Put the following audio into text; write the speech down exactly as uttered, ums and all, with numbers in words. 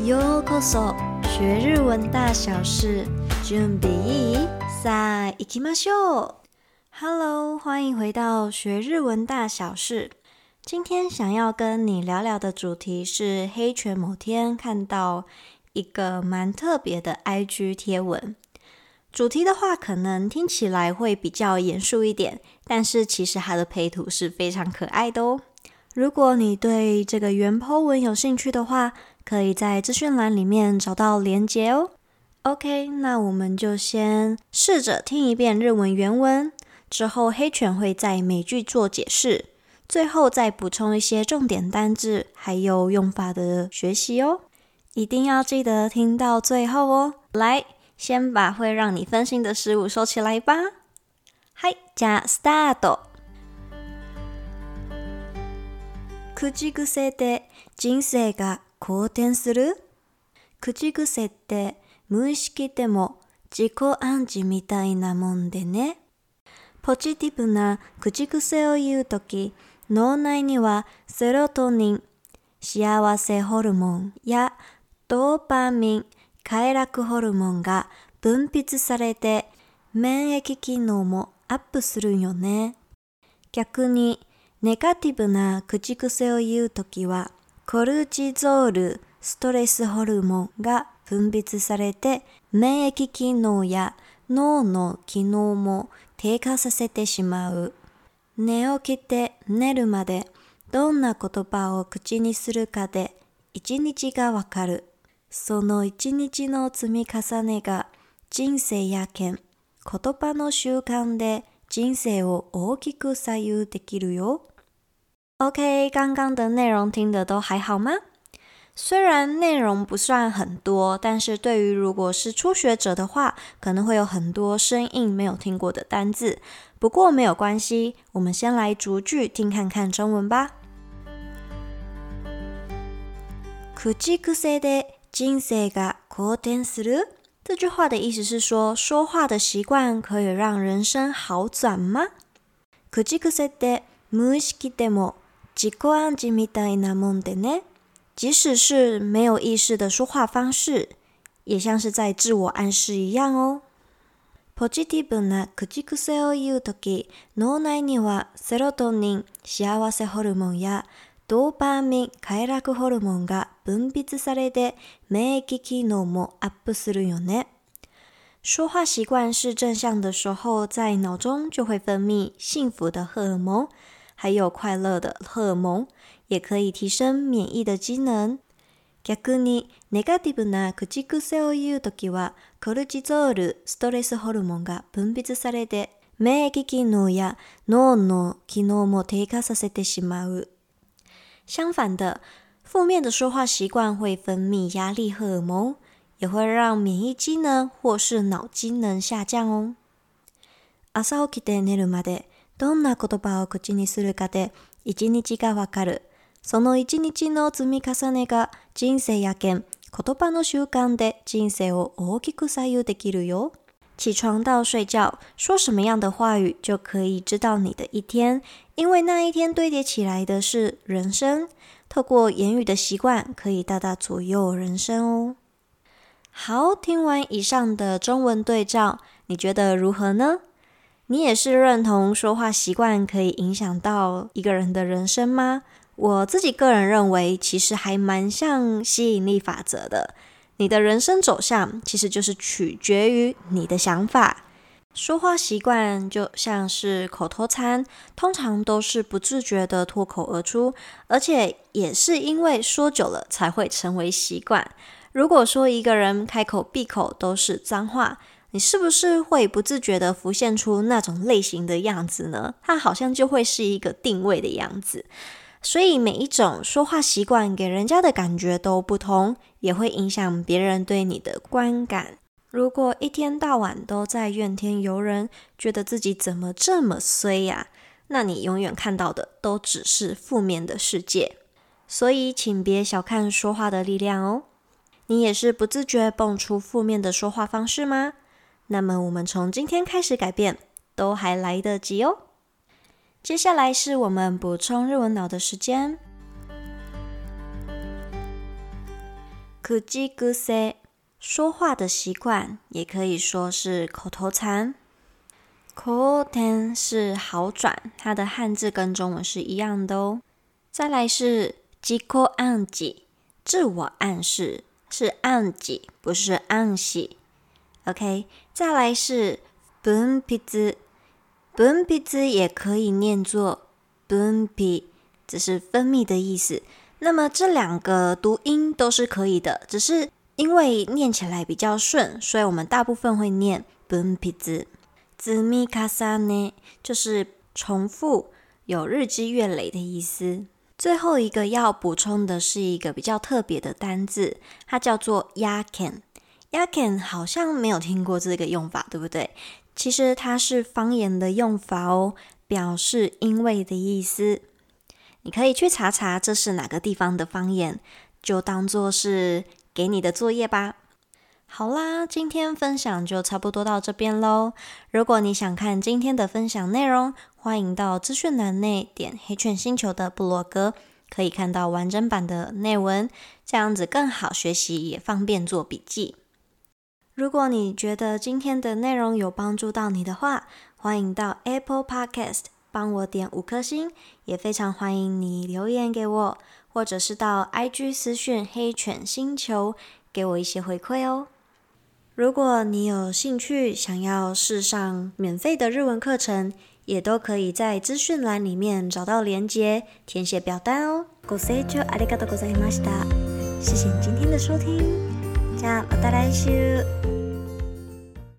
ようこそ學日文大小事，準備いい？さあ行きましょう。Hello， 歡迎回到學日文大小事。今天想要跟你聊聊的主題是黑犬某天看到一個蠻特別的 I G 貼文。主題的話可能聽起來會比較嚴肅一點，但是其實它的配圖是非常可愛的哦。如果你對這個原 po 文有興趣的話，可以在資訊欄裡面找到連結哦。OK， 那我們就先試着聽一遍日文原文，之後黑犬會在每句做解釋，最後再補充一些重點單字還有用法的學習哦。一定要記得聽到最後哦。來，先把會讓你分心的事物收起來吧。はい、じゃあスタート。口癖で人生が好転する？口癖って無意識でも自己暗示みたいなもんでね。ポジティブな口癖を言うとき、脳内にはセロトニン、幸せホルモンやドーパミン、快楽ホルモンが分泌されて、免疫機能もアップするよね。逆にネガティブな口癖を言うときは、コルチゾール、ストレスホルモンが分泌されて、免疫機能や脳の機能も低下させてしまう。寝起きて寝るまでどんな言葉を口にするかで一日がわかる。その一日の積み重ねが人生やけん、言葉の習慣で人生を大きく左右できるよ。OK， 剛剛的內容聽得都還好嗎？雖然內容不算很多，但是對於如果是初學者的話，可能會有很多生硬沒有聽過的單字。不過沒有關係，我們先來逐句聽看看中文吧。口癖で人生が好転する？這句話的意思是說，說話的習慣可以讓人生好轉嗎？口癖って無意識でも自己暗示みたいなもんでね。即使是沒有意識的說話方式，也像是在自我暗示一樣哦。ポジティブな口癖を言うとき、脳內にはセロトニン、幸せホルモンやドーパミン、快楽ホルモンが分泌されて、免疫機能もアップするよね。說話習慣是正向的時候，在腦中就會分泌幸福的荷爾蒙，還有快樂的荷爾蒙，也可以提升免疫的機能。逆にネガティブな口癖を言うときは、コルチゾール、ストレスホルモンが分泌されて、免疫機能や脳の機能も低下させてしまう。相反的，負面的說話習慣會分泌壓力荷爾蒙，也會讓免疫機能或是腦機能下降哦。朝起きて寝るまでどんな言葉を口にするかで一日がわかる。その一日の積み重ねが人生やけん、言葉の習慣で人生を大きく左右できるよ。起床到睡覺，說什麼樣的話語就可以知道你的一天，因為那一天堆疊起來的是人生。透過言語的習慣，可以大大左右人生哦。好，聽完以上的中文對照，你覺得如何呢？你也是認同說話習慣可以影響到一個人的人生嗎？我自己個人認為，其實還蠻像吸引力法則的。你的人生走向其實就是取決於你的想法。說話習慣就像是口頭禪，通常都是不自覺的脫口而出，而且也是因為說久了才會成為習慣。如果說一個人開口閉口都是髒話，你是不是會不自覺的浮現出那種類型的樣子呢？它好像就會是一個定位的樣子。所以每一種說話習慣給人家的感覺都不同，也會影響別人對你的觀感。如果一天到晚都在怨天尤人，覺得自己怎麼這麼衰呀，那你永遠看到的都只是負面的世界。所以請別小看說話的力量哦。你也是不自覺蹦出負面的說話方式嗎？那麼我們從今天開始改變，都還來得及哦。接下來是我們補充日文腦的時間。 口癖，說話的習慣，也可以說是口頭禪。好転是好轉，它的漢字跟中文是一樣的哦。再來是自己暗示，自我暗示，是暗記，不是暗示。OK， 再來是分泌，分泌也可以念作分泌，只是分泌的意思。那麼這兩個讀音都是可以的，只是因為念起來比較順，所以我們大部分會念分泌。積み重ね就是重複，有日積月累的意思。最後一個要補充的是一個比較特別的單字，它叫做やけん。やけん好像沒有聽過這個用法，對不對？其實它是方言的用法哦，表示因為的意思。你可以去查查這是哪個地方的方言，就當作是給你的作業吧。好啦，今天分享就差不多到這邊咯。如果你想看今天的分享內容，歡迎到資訊欄內點黑犬星球的部落格，可以看到完整版的內文，這樣子更好學習，也方便做筆記。如果你覺得今天的內容有幫助到你的話，歡迎到 Apple Podcast 幫我點五顆星，也非常歡迎你留言給我，或者是到 I G 私訊黑犬星球給我一些回饋哦。如果你有興趣想要試上免費的日文課程，也都可以在資訊欄裡面找到連結，填寫表單哦。ご清聴ありがとうございました。謝謝你今天的收聽，じゃあまた來週。